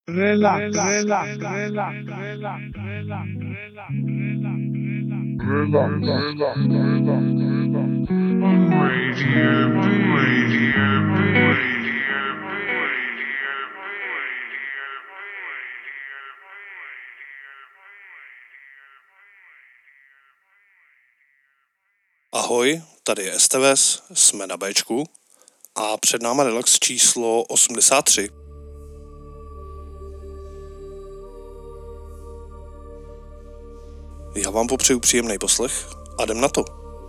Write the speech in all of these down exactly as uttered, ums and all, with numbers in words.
Relax, relax, relax, relax, relax, relax, Radio B, Radio B, Radio B, Radio Ahoj, tady je Esteves, jsme na Bčku a před náma relax číslo osmdesát tři. Já vám popřeju příjemný poslech a jdem na to.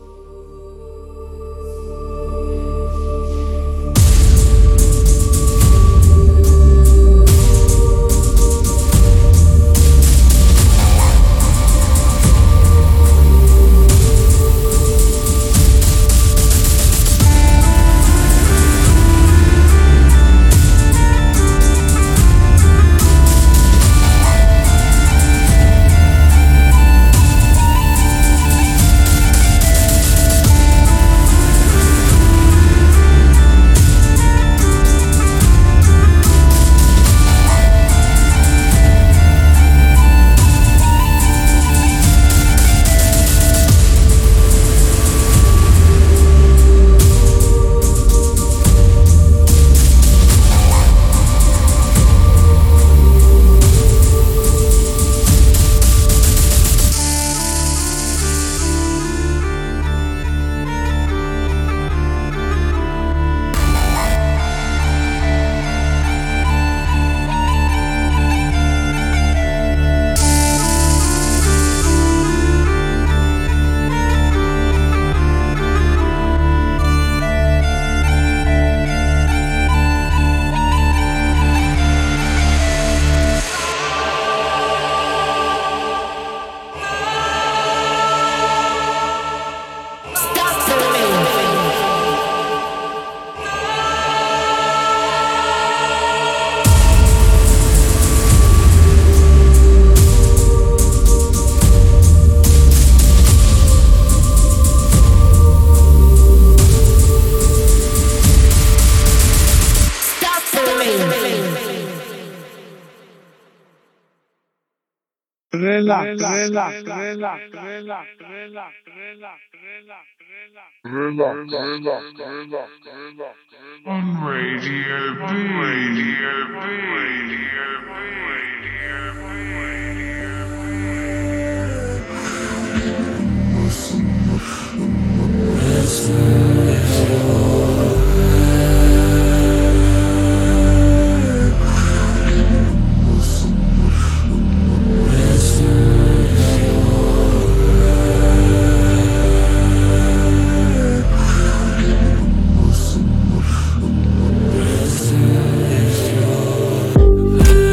Relax, relax, relax, relax, relax, relax, relax, relax, relax, relax, on Radio B, Radio B, Radio B, Radio B, We'll be right back.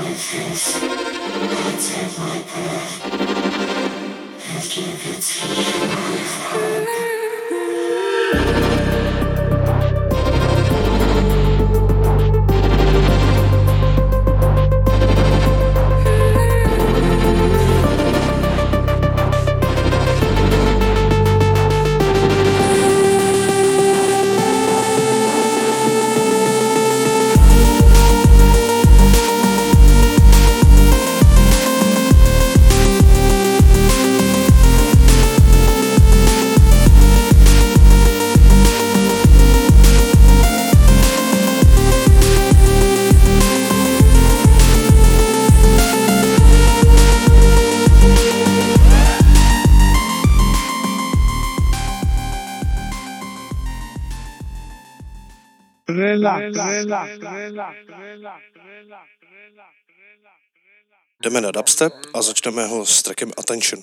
Jdeme na dubstep a začneme ho s trackem Attention.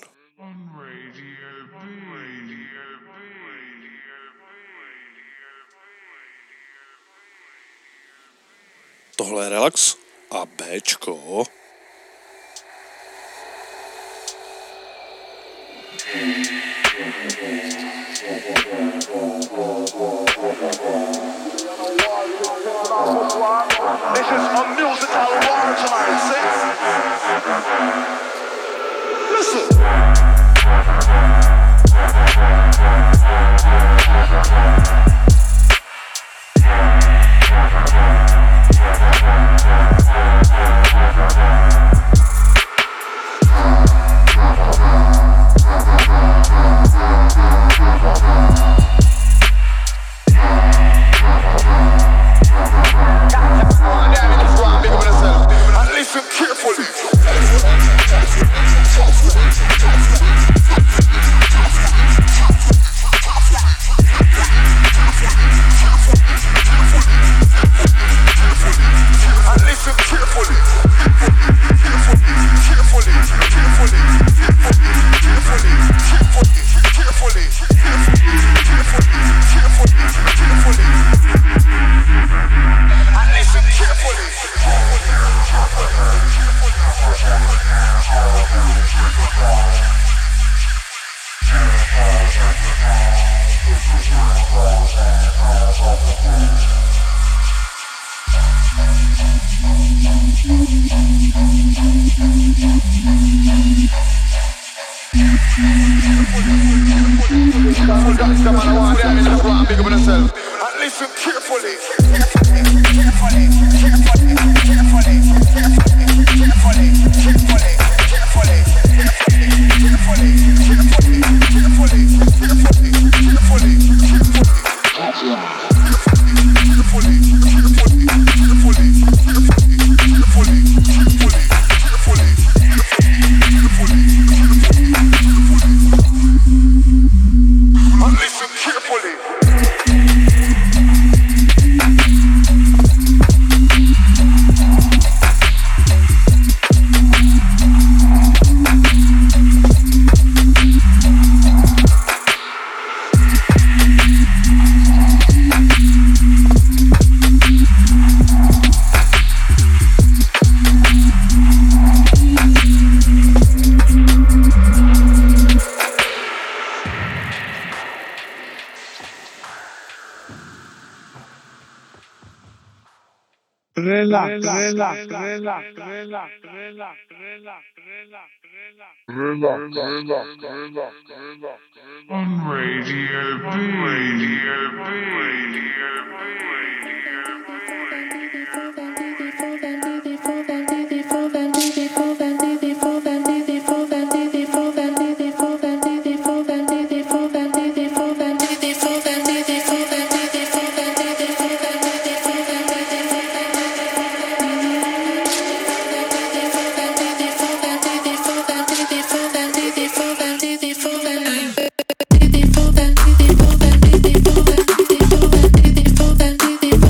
Tohle je Relax a Bčko. This is a musical war tonight, see? Listen. Relax, relax, relax, relax, relax, relax, on Radio B, Radio B, Radio B.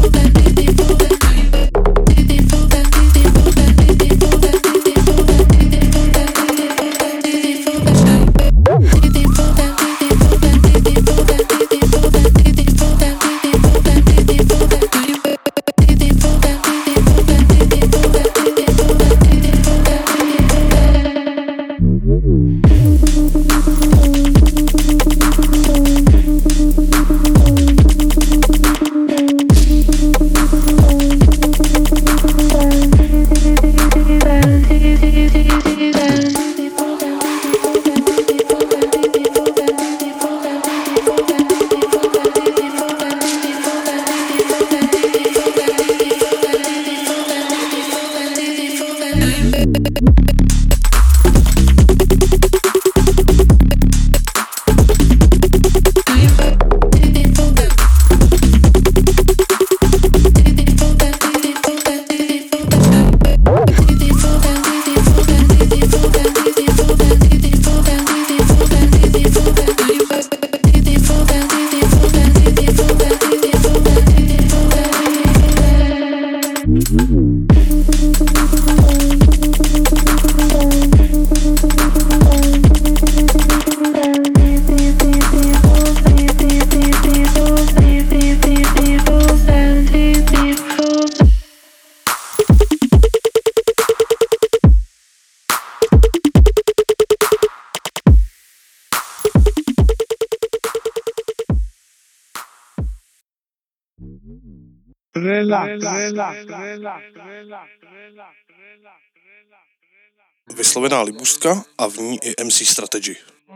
Vyslovená libůstka a v ní i em cé Strategy.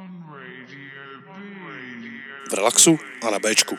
V relaxu a na Bčku.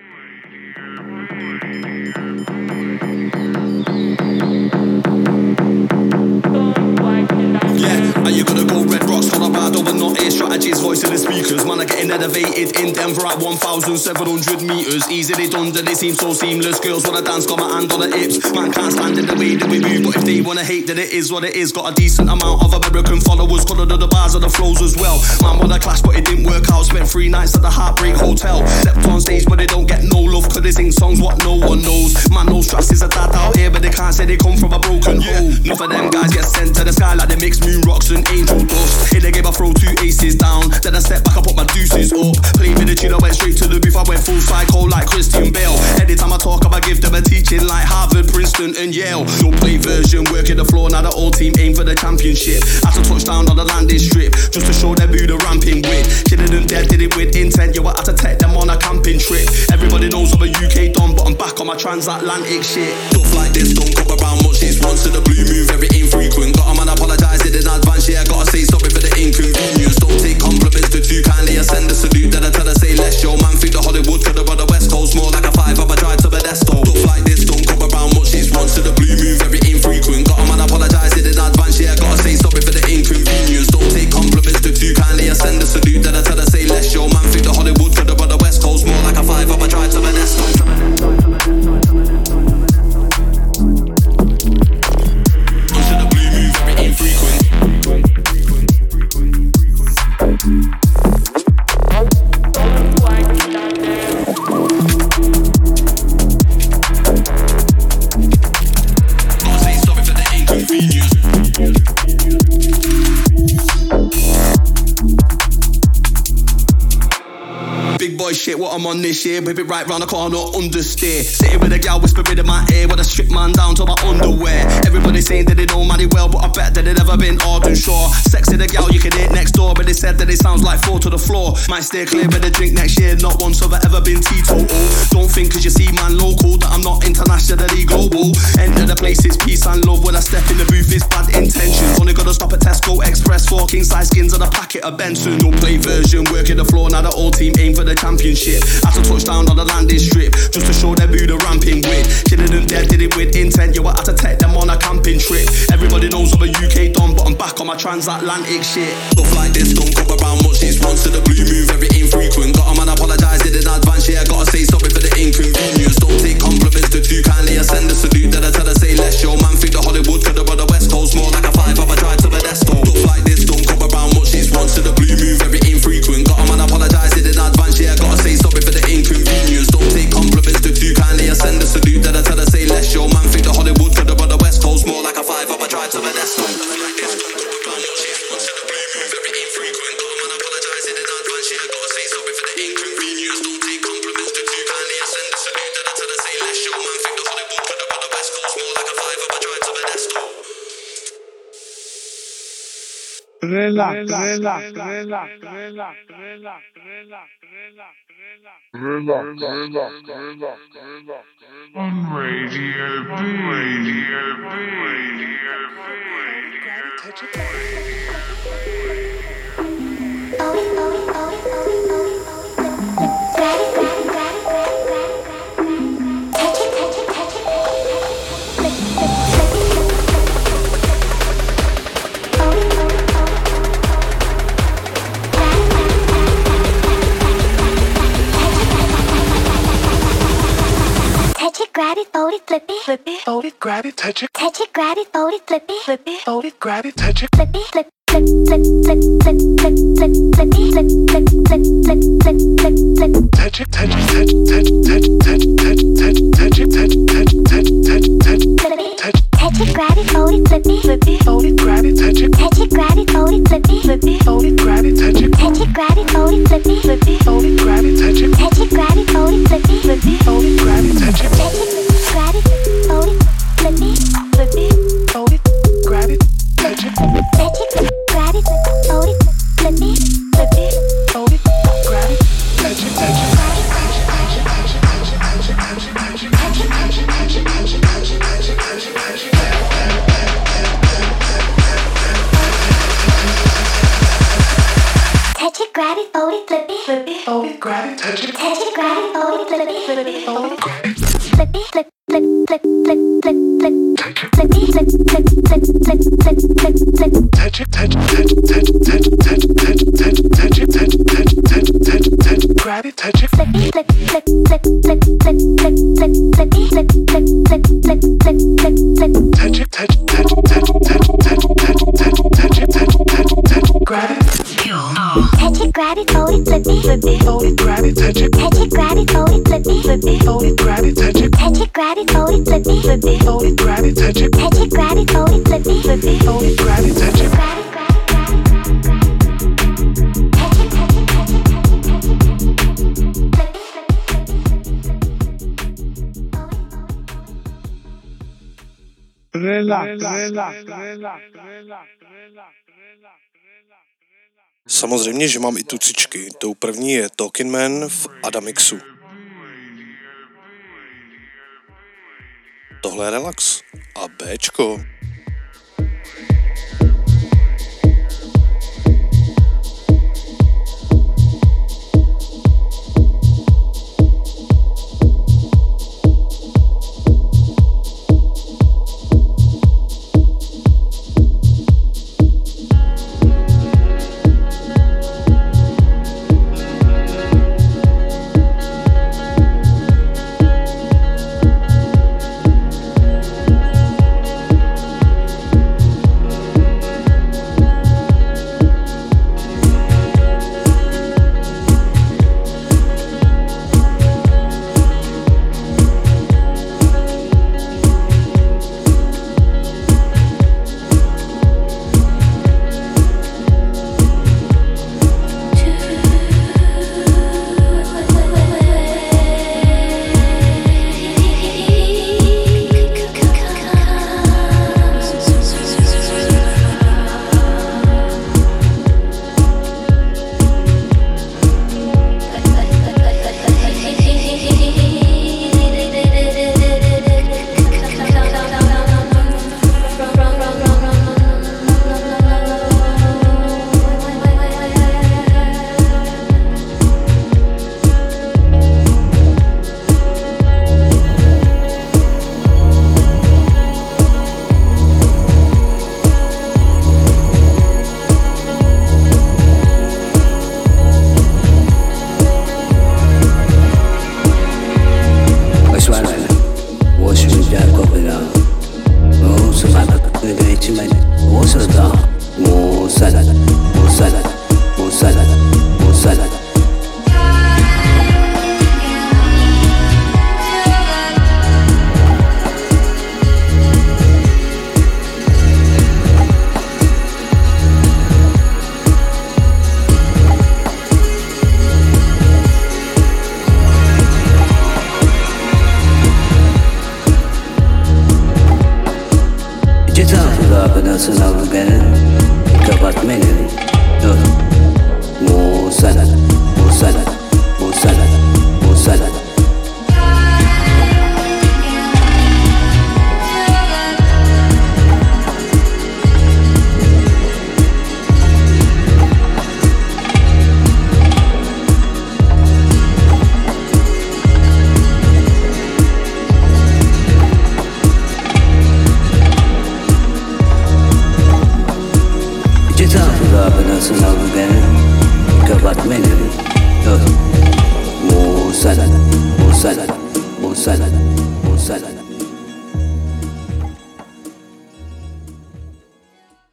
Yeah, and you gotta go Red Rocks, Colorado, but not air strategies, voice in the speakers. Man, are getting elevated in Denver at one thousand seven hundred meters. Easily done, that they seem so seamless. Girls wanna dance, got my hand on the hips. Man can't stand in the way that we move, but if they wanna hate, then it is what it is. Got a decent amount of American followers, colored of the bars and the flows as well. Man wanna clash, but it didn't work out. Spent three nights at the Heartbreak Hotel. Stepped on stage, but they don't get no love, cause they sing songs what no one knows. Man knows Strass is a dad out here, but they can't say they come from a broken home. Enough of them guys get sent to the sky like they mix moon rocks and angel dust. Here they gave I throw two aces down, then I step back, I put my deuces up. Played with the tune, I went straight to the booth, I went full psycho like Christian Bale. Anytime I talk, I give them a teaching like Harvard, Princeton and Yale. No play version, working the floor, now the whole team aim for the championship. Had to touch down on the landing strip, just to show them who the ramping with. Killing them dead, did it with intent, yo, I had to take them on a camping trip. Everybody knows I'm a U K don, but I'm back on my transatlantic shit. Stuff like this don't come around much, it's once to the blue move, very infrequent. Got a man apologise in advance, yeah, gotta say sorry for the inconvenience. Don't take compliments to too kindly, I send a salute, then I tell her say less. Yo, man, think the Hollywood could have run the West Coast, more like a five of a drive to Modesto. Stuff like this don't come around much, it's once to the blue move, very infrequent. Got a man apologise in advance, yeah, gotta say sorry for the inconvenience. Don't take compliments to too kindly, I send a salute, then I tell her say less. Yo, man, think the Hollywood could have run the West Coast, more like a five of a drive to Modesto. Shit, what I'm on this year, whip it right round the corner, understeer. Sitting with a gal whispering in my ear, with a strip man down to my underwear. Everybody saying that they know Manny well, but I bet that they never been Arden Shore. Sexy the gal you can hit next door, but they said that it sounds like four to the floor. Might stay clear with the drink next year, not once have I ever been teetotal. Don't think cause you see man local that I'm not internationally global. Enter the place, it's peace and love. When I step in the booth, it's bad intentions. Only gotta stop at Tesco Express, four king size skins and a packet of Benson. No play version, working the floor, now the whole team aim for the championship. Had to touch down on the landing strip, just to show them who the ramping with. Killing them dead, did it with intent, yo, I had to take them on a camping trip. Everybody knows I'm a U K don, but I'm back on my transatlantic shit. Stuff like this don't come around much, it's once to the blue move, very infrequent. Got a man apologise in advance, yeah, gotta say sorry for the inconvenience. Don't take compliments to too kindly, I send a salute, then I tell her say less. Yo, man, think the Hollywood could have run the West Coast, more like a five of a drive to Modesto. Stuff like this don't come around much, it's once to the blue move, very infrequent. Got a man apologise in advance, yeah, gotta say sorry for the inconvenience. Don't take compliments to too kindly, I send a salute, then I tell her say less. Yo, man, think the Hollywood could have run the West Coast, more like a five of a drive to Modesto. Relax, relax, relax, relax, relax, relax, on Radio B, Radio B, Radio B. grab it, touch it, touch it, grab it, fold it, flip it, flip it, fold it, grab it, touch it, flip it, flip, flip, flip, flip, flip, flip, flip, flip it, flip, flip, flip, flip, flip, flip, flip. touch it, touch it, touch touch touch touch touch touch touch it, touch touch touch touch touch Flip it, touch touch it, grab it, fold it, flip it, flip it, fold it, grab it, touch it, touch it, grab it, fold it, flip it, flip it, fold it, grab it, touch it, touch it, grab it, fold it, flip it, flip it, fold it, grab it, touch it, touch it, grab it, fold it, flip it, flip it, fold it, grab it, touch it, touch it, grab it, fold it, flip it, flip it, fold it, grab it, touch it, touch it, grab it, fold it, flip it, flip it, fold it, grab it, touch it, touch it. touch it, grab it, fold it, flip it, flip it, Fold it, grab it, touch it, touch it, grab it, fold it, flip it, flip it, fold it, grab it, flip it, flip, flip, flip, flip, flip, flip, flip it, flip, flip, flip, flip, flip, flip, flip. touch it, touch touch touch touch touch touch touch touch it, touch touch touch touch touch grab it, touch it, Flip, flip, flip, flip, flip, flip, flip, flip, flip, flip, flip, flip, flip, flip, flip, flip. touch it, touch touch touch touch touch touch touch touch it, touch touch touch grab it, Touch it, grab it, fold it, flip it, flip it. fold it, grab it, touch it, Touch it, grab it, fold it, flip it, flip it. fold it, grab it, touch it, Touch it, grab it, fold it, flip it, flip it. fold it, grab it, touch it, Touch it, grab it, fold it, flip it, flip it. fold it, grab it, touch it. Grab it, grab it, grab it, grab it, grab it. Touch it, touch it, touch it, touch it, touch it. Flip it, flip it, flip it, flip it, flip it. Fold it, fold it. Relax, relax, relax, relax. Samozřejmě, že mám i tucičky. Tou první je Talking Man v Adamixu. Tohle je Relax a Bčko.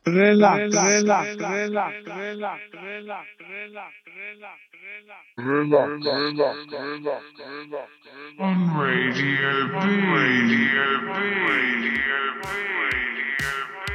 Relax, relax, relax, relax, relax, relax, relax, relax, relax, relax. On Radio B, Radio B, Radio B, Radio B.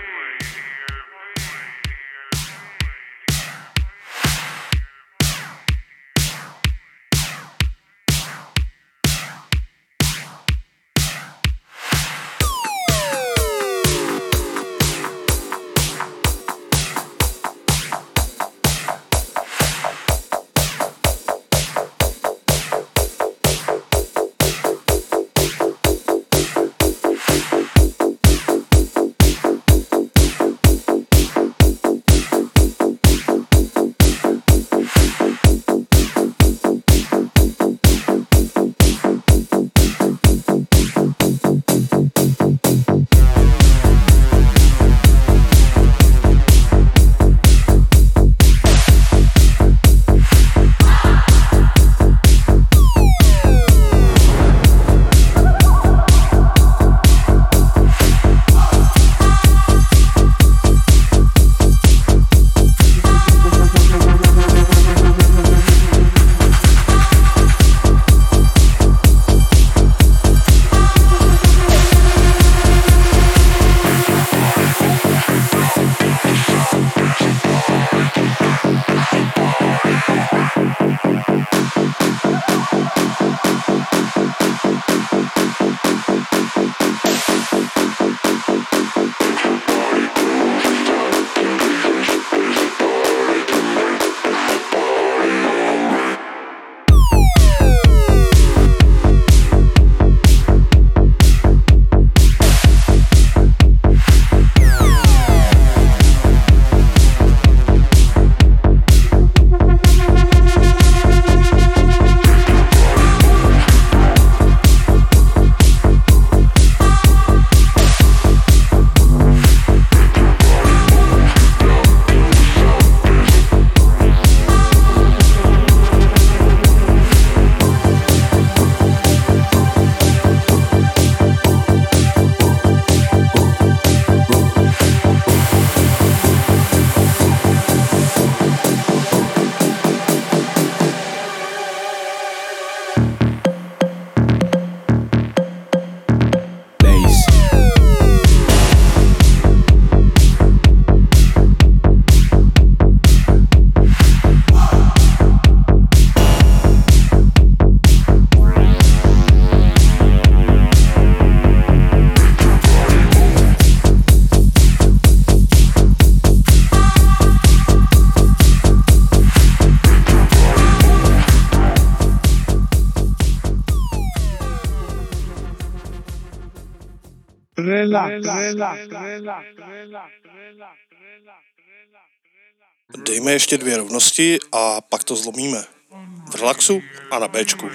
Dejme ještě dvě rovnosti a pak to zlomíme. V relaxu a na Bčku.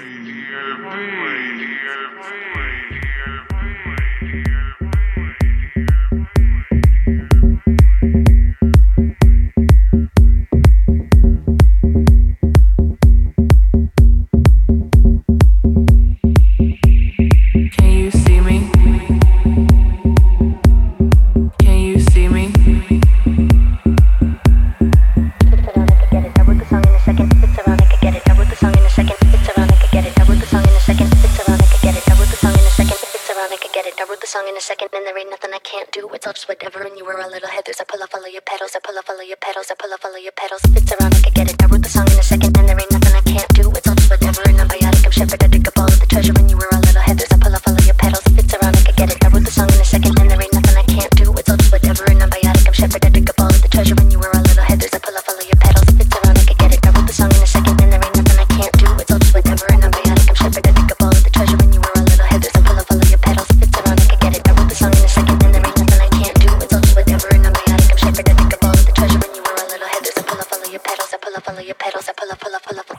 Song in a second, and there ain't nothing I can't do. It's all just whatever, and you were a little headers. I pull off all of your pedals, I pull off all of your pedals, I pull off all of your pedals. It's around, I can get it. I wrote the song in a second, and there ain't nothing I can't do. It's all just whatever, and I'm biotic. I'm shepherd, I dig up all of the treasure, and you were a little headers. I pull off all of your pedals. It's around, I can get it. I wrote the song in a second, and there ain't nothing I can't do. It's all just whatever, and I'm biotic. I'm shepherd, I dig up all of the treasure, and you were a little headers. I pull off all of your pedals. It's around, I can get it. I wrote the song in a second, and there ain't nothing I can't do. It's all just whatever, and I'm biotic. I'm shepherd, I dig up all of the treasure, and you were a little headers. I pull off all of your pedals. It's around, I can get it. I wrote the song in a second, and there ain't nothing I can't do. It's all just whatever, and I'm biotic. I'm shepherd, I dig up all of the treasure, and you were a little headers. I pull off all of your pedals. I pull off all of your pedals. I pull off, pull off, pull off.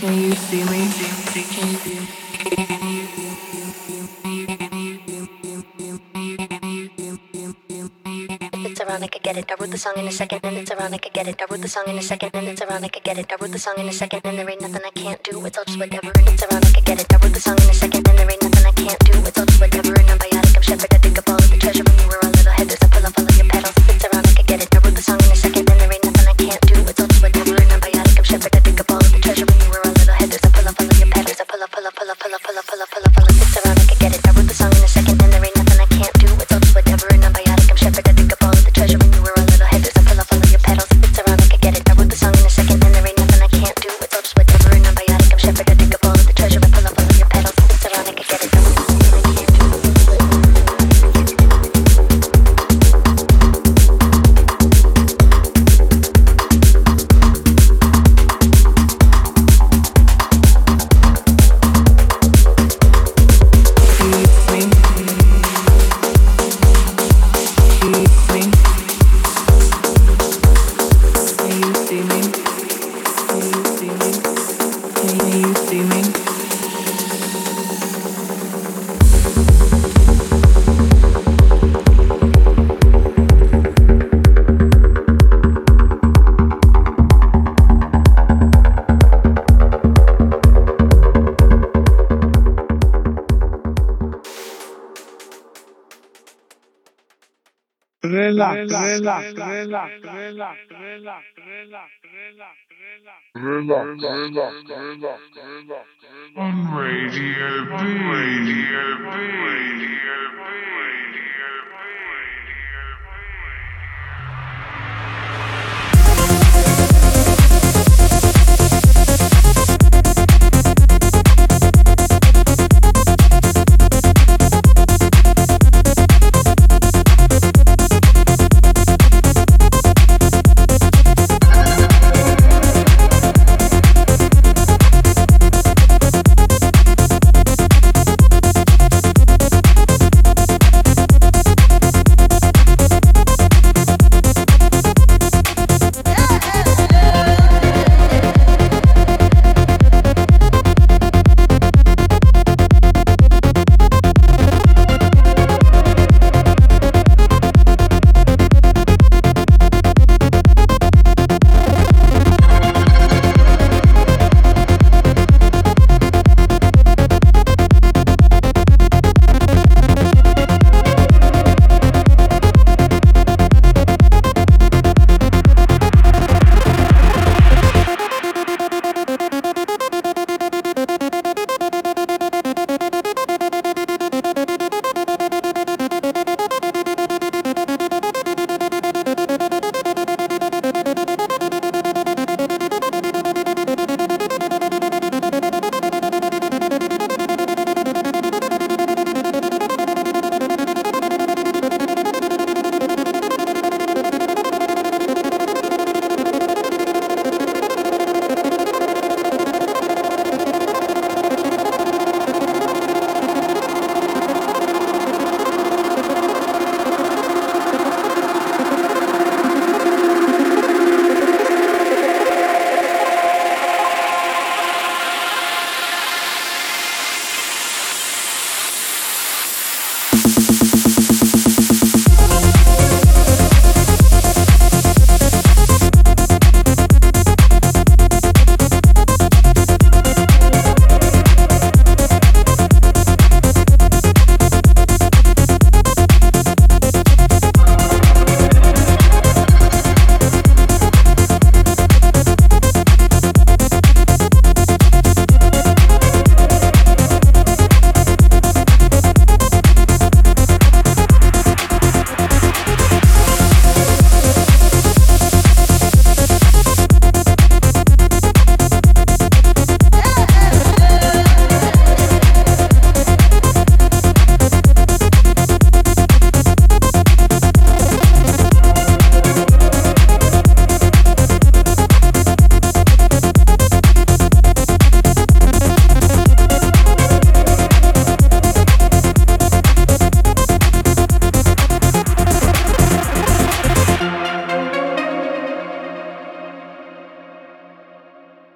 Can you see me? Can you see me? It's around, I could get it. I wrote the song in a second, and it's around, I could get it. I wrote the song in a second, and it's around, I could get it. I wrote the song in a second, and there ain't nothing I can't do. It's all just whatever, and it's around, I could get it. I wrote the song in a second, and there ain't nothing I can't do. It's all just whatever, and I'm biotic, I'm shepherd. I dig up all of the treasure when you were a little head. There's a pull up all of your petals. It's around, I could get it. I wrote the song in a second, and there ain't nothing I can't do. It's all just whatever, and I'm biotic, I'm shepherd. I dig up all of the treasure when you were a little head. There's a pull up all of your petals. A pull up, pull up, pull up, pull up, pull up, pull up, pull up, pull up. It's around, I could get it. I wrote the song in a second, and there ain't nothing I can't do. It's all just whatever, and I'm biotic, I'm shepherd. I dig up all of the treasure when you were a little head. There's a pull up all of your petals. It's around, I could get it. I wrote the song in a second, and there ain't nothing I can't do. It's all just whatever, and I'm biotic, I'm shepherd. I dig up all of the treasure. I pull up all of your petals. It's around, I could get it. I wrote the song in a second, and there ain't nothing I can't do. Relax, relax, relax, relax, relax, relax, on Radio B, Radio B, Radio B.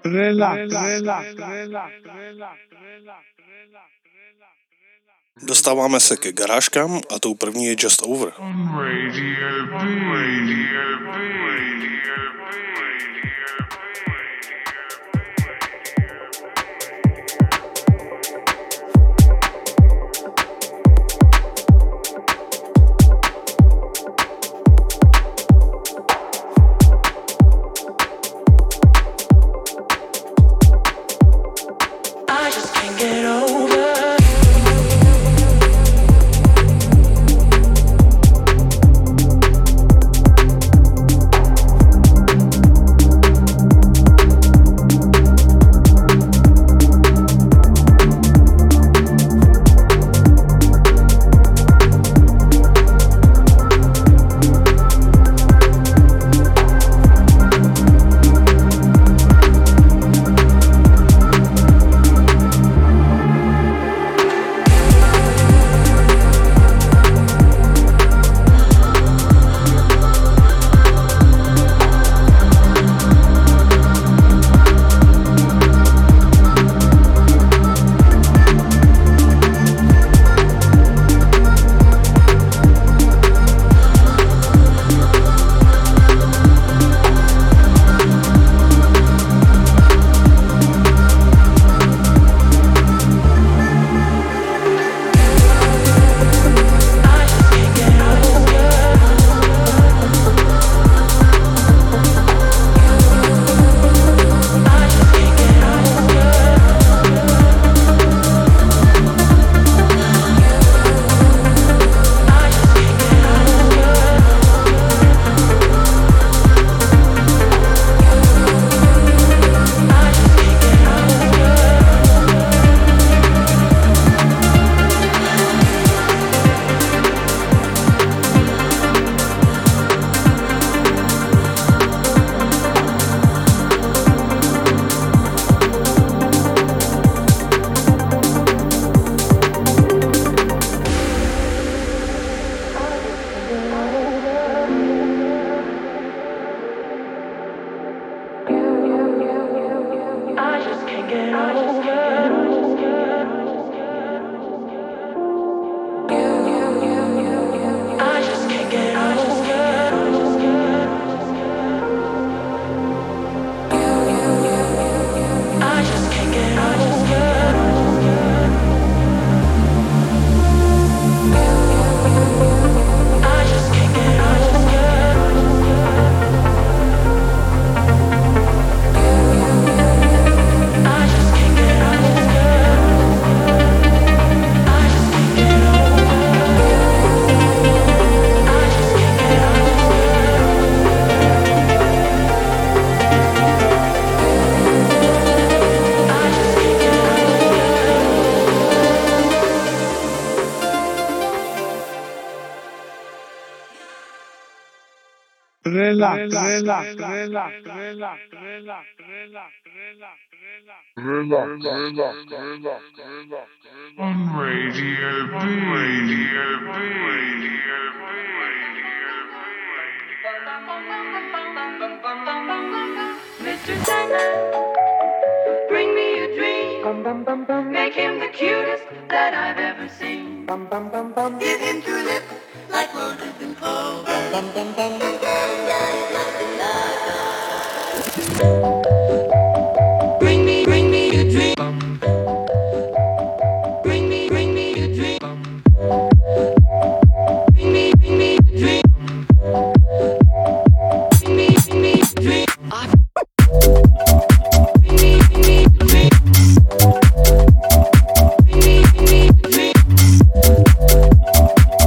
Dostáváme se ke garážkám a tou první je Just Over. On Radio B. Radio B. Radio B. I just can't get over. Relax, relax, relax, relax, relax, relax, relax, on Radio B, Radio B, Radio B, Mister Sandman, bring me a dream. Make him the cutest that I've ever seen. Give him tulip like roses and clover. Bring me, bring me a dream. Bring me, bring me a dream. Bring me, bring me a dream. Bring me, bring me a dream. Bring me, bring me a dream. Bring me, bring me a dream.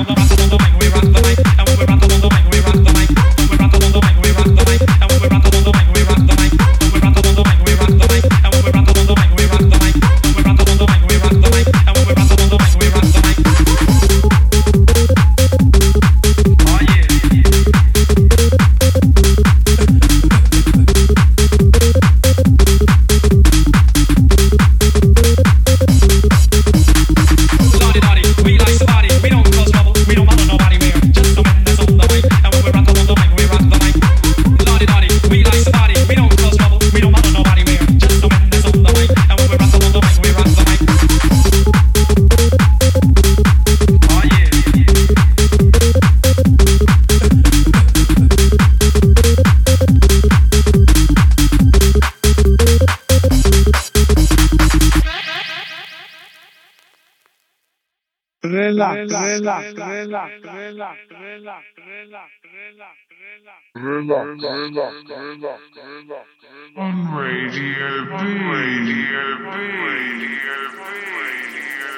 Relax, relax, relax, relax, relax, relax, relax, relax, relax, relax, on Radio B, Radio B, Radio B, Radio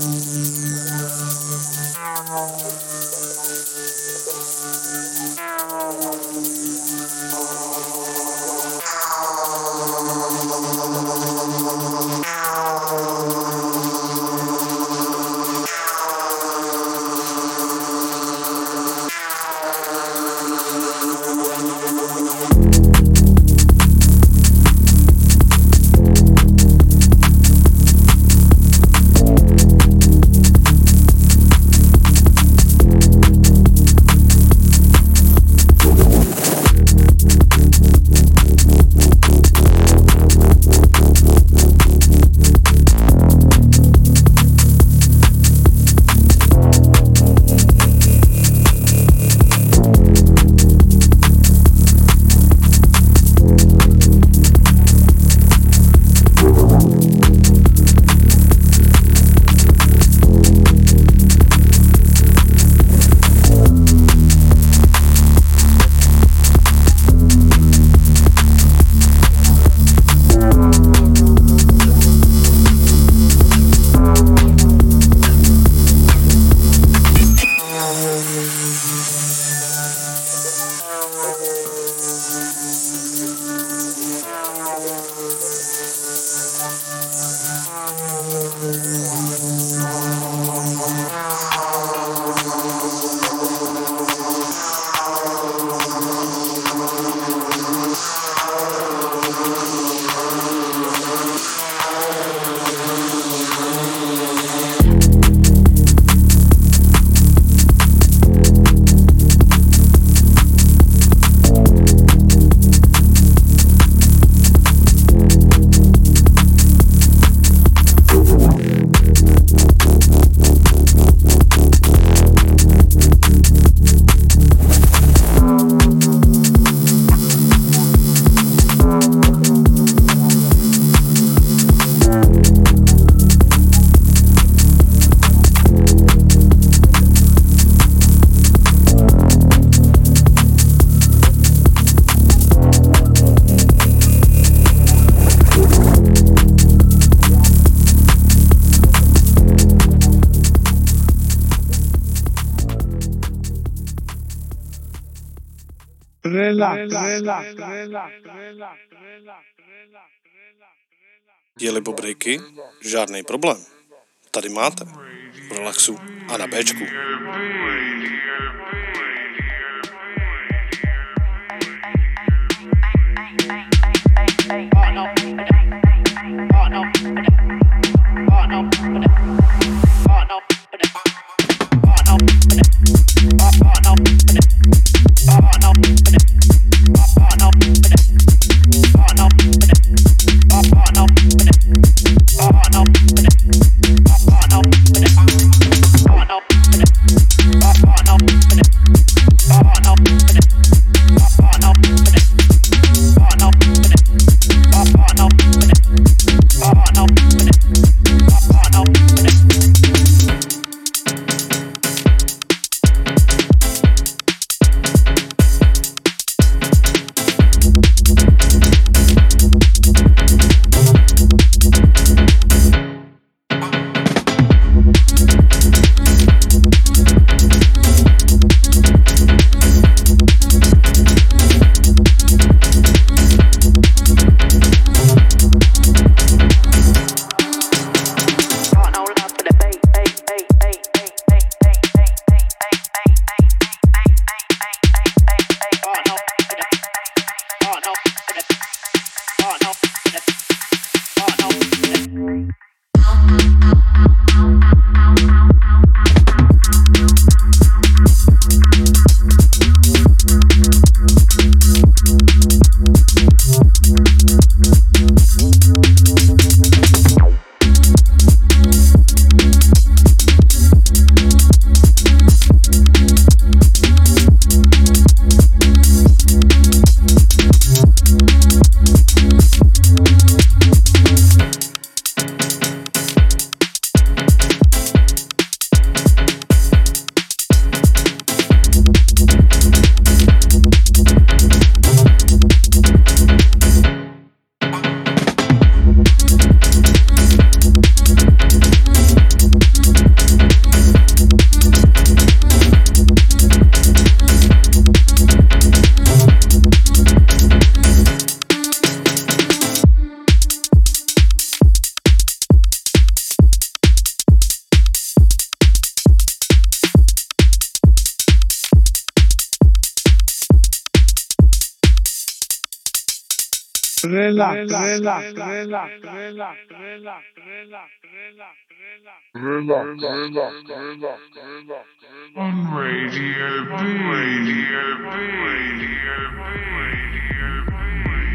Jeli po breaky? Žádný problém. Tady máte. V relaxu a na Bčku. Oh, no. Relax, relax, relax, relax, relax, relax, relax, relax, relax, on Radio B, Radio B, Radio B, Radio B.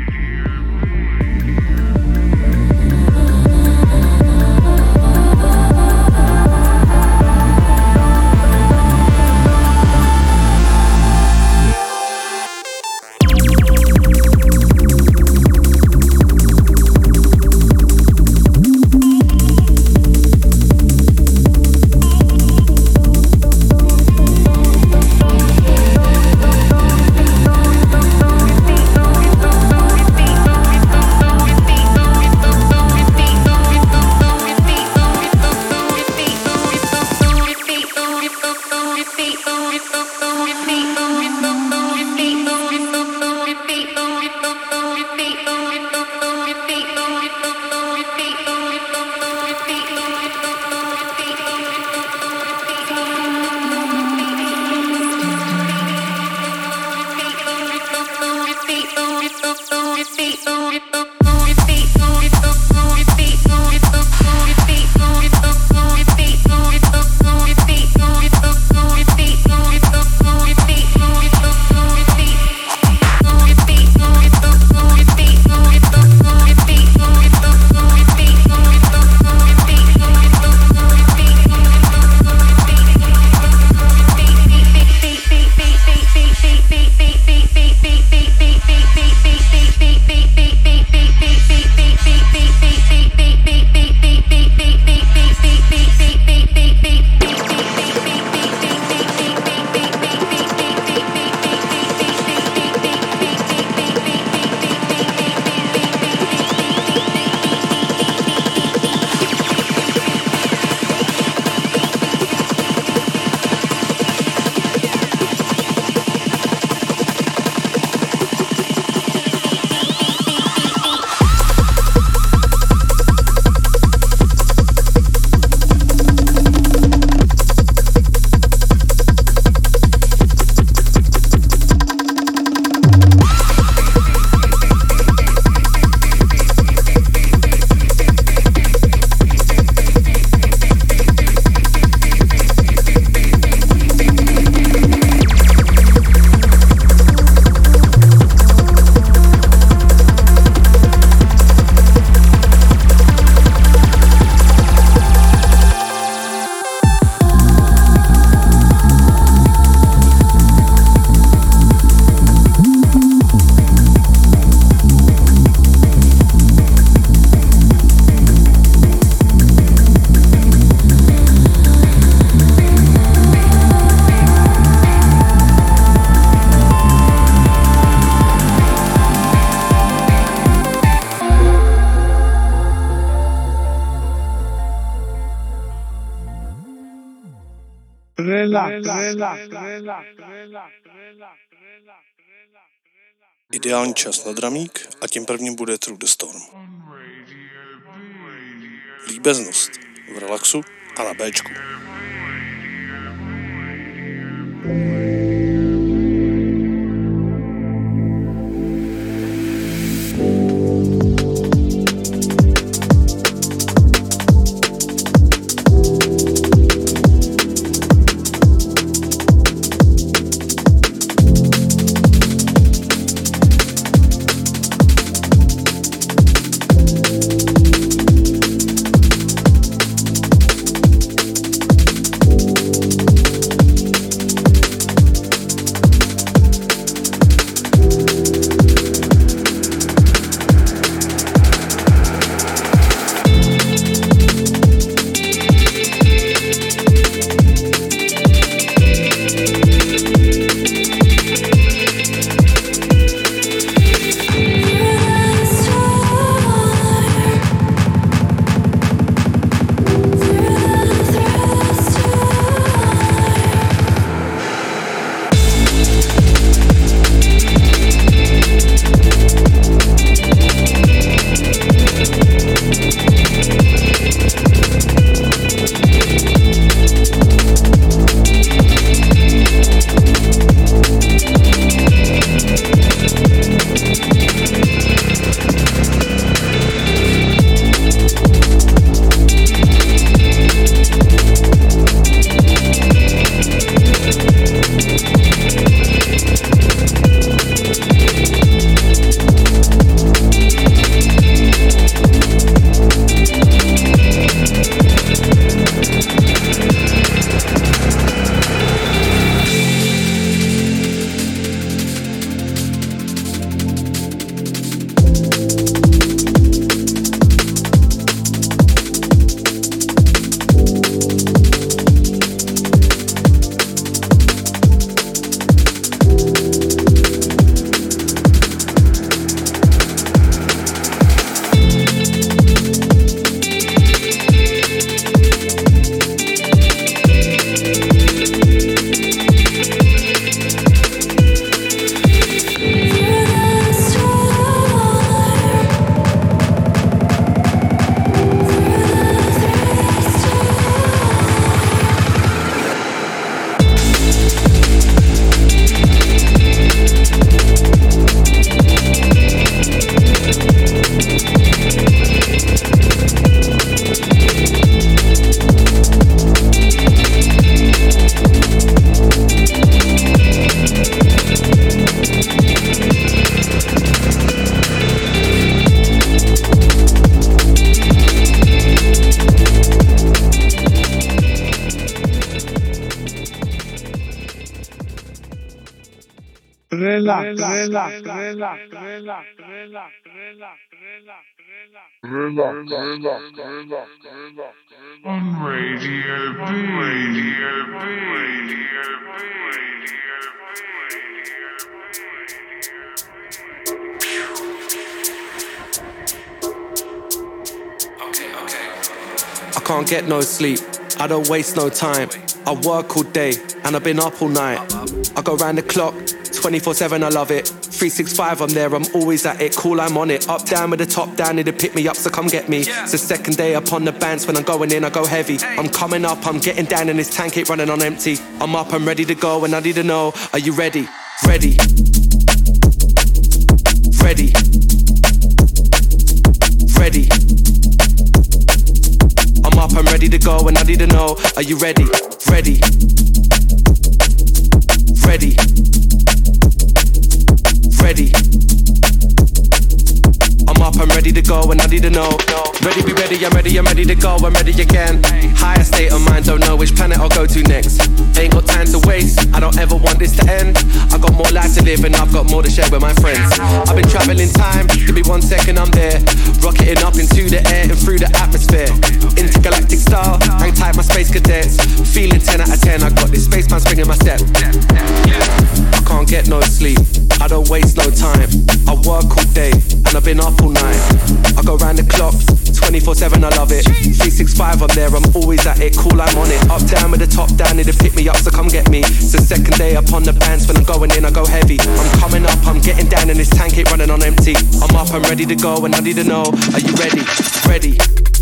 Ideální čas na dramík a tím prvním bude Through the Storm. Líbeznost v relaxu a na Béčku. Relax, relax, relax, relax, relax, relax, relax, relax, relax, relax. On Radio B, Radio B, Radio B, Radio Okay, okay. I can't get no sleep. I don't waste no time. I work all day and I've been up all night. I go round the clock, twenty-four seven, I love it. three sixty-five, I'm there, I'm always at it. Cool, I'm on it. Up, down with the top down, need to pick me up, so come get me. It's the second day upon the bands. When I'm going in, I go heavy. I'm coming up, I'm getting down, and this tank ain't running on empty. I'm up, I'm ready to go, and I need to know, are you ready? Ready. Ready. Ready. I'm up, I'm ready to go, and I need to know, are you ready? Ready. Ready. Ready. I'm up, I'm ready to go, and I need to know. Ready, be ready, I'm ready, I'm ready to go, I'm ready again. Higher state of mind, don't know which planet I'll go to next. Ain't got time to waste, I don't ever want this to end. I got more life to live and I've got more to share with my friends. I've been traveling time, give me one second, I'm there. Rocketing up into the air and through the atmosphere. Intergalactic style, hang tight my space cadets. Feeling ten out of ten, I got this spaceman springing my step. I can't get no sleep, I don't waste no time. I work all day and I've been up all night. I go round the clock, twenty-four seven, I love it. three sixty-five, I'm there, I'm always at it. Cool, I'm on it. Up, down with the top down, need to pick me up, so come get me. It's the second day upon the bands. When I'm going in, I go heavy. I'm coming up, I'm getting down, and this tank ain't running on empty. I'm up, I'm ready to go, and I need to know, are you ready? Ready.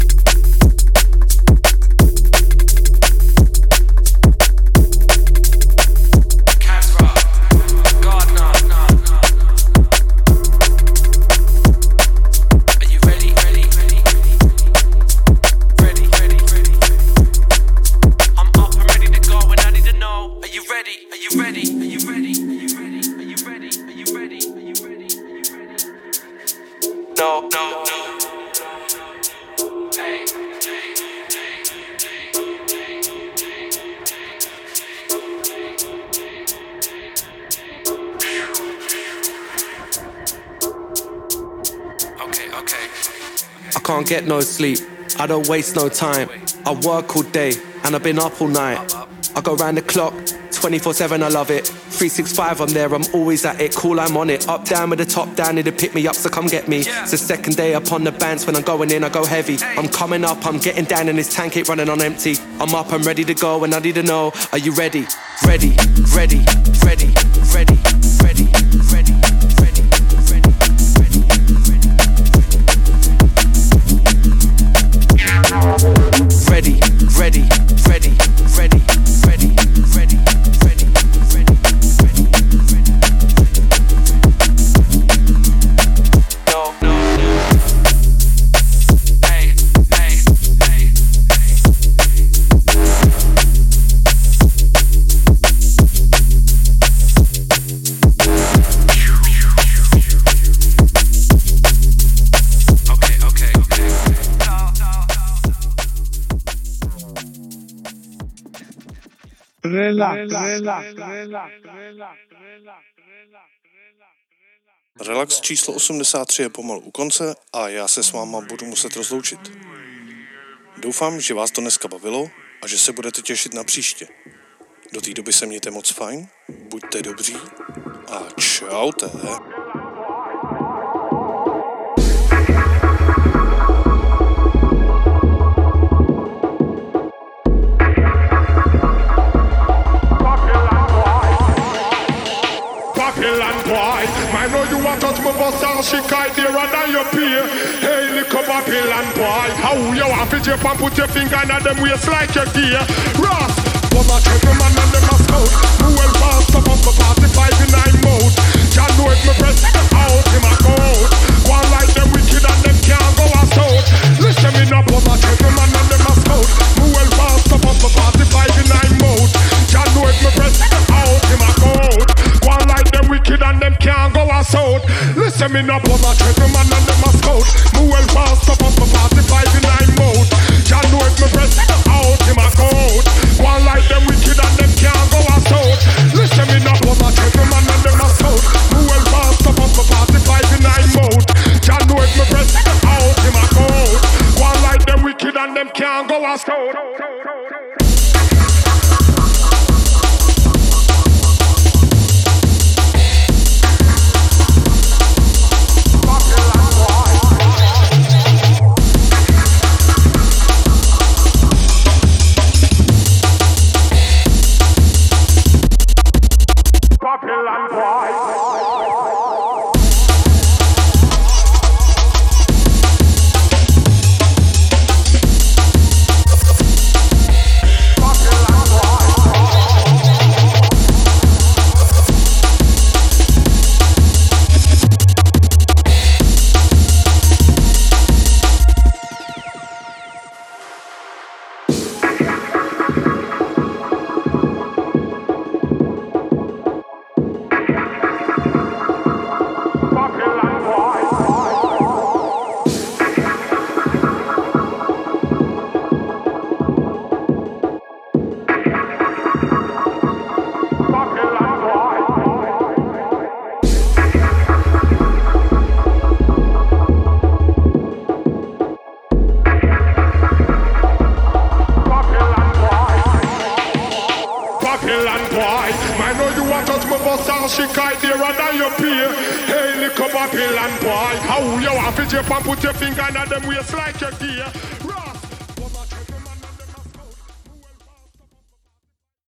No, no, no. Hey, hey, okay, okay. I can't get no sleep. I don't waste no time. I work all day and I've been up all night. I go round the clock, twenty-four seven, I love it. three sixty-five, I'm there, I'm always at it. Cool, I'm on it. Up, down with the top down, need to pick me up, so come get me. It's the second day upon the bands. When I'm going in, I go heavy. I'm coming up, I'm getting down, and this tank ain't running on empty. I'm up, I'm ready to go, and I need to know, are you ready? Ready, ready, ready, ready, ready, ready, ready, ready, ready, ready, ready, ready, ready, ready, ready, ready, ready, ready, ready. No, no, no. Hey, hey, hey, okay, okay, okay. Relax, relax, relax, relax, relax. Relax číslo osmdesát tři je pomalu u konce a já se s váma budu muset rozloučit. Doufám, že vás to dneska bavilo a že se budete těšit na příště. Do té doby se mějte moc fajn, buďte dobří a čaute. I know you want touch my bus and she kite there and your peer. Hey, little Babylon boy, how you want to jump and put your finger in them waist like your gear? Ross, one a gentleman and them a scout. Who will pass up on my forty-five in nine mode? John know if me press out, him a go out. One like them wicked and them can't go out. Listen me up, one a gentleman and them a scout. Who will pass up on my forty-five in nine mode? John know if me press out, him a go out. One like them wicked and them can't go out. Listen me up, I'm a gentleman and them a scout. Who will pass up on my forty-five in nine mode? John know if me press out, him a go out. One like them wicked and them can't go out. Listen me up, I'm a gentleman and them a scout. bust out. Babylon boy. She kite there and you pay. Hey, little Babylon boy, how you want to jump and put your finger in them waist like your gear.